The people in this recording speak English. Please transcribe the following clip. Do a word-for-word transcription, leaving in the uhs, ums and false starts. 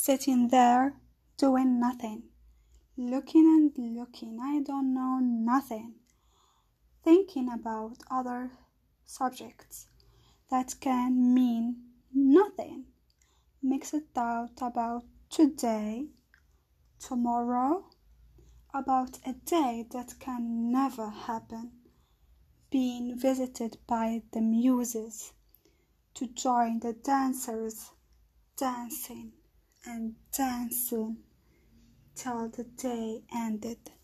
sitting there doing nothing, looking and looking, I don't know nothing, thinking about other subjects that can mean nothing, mixed thought about today, tomorrow, about a day that can never happen, being visited by the muses to join the dancers, dancing and dancing till the day ended.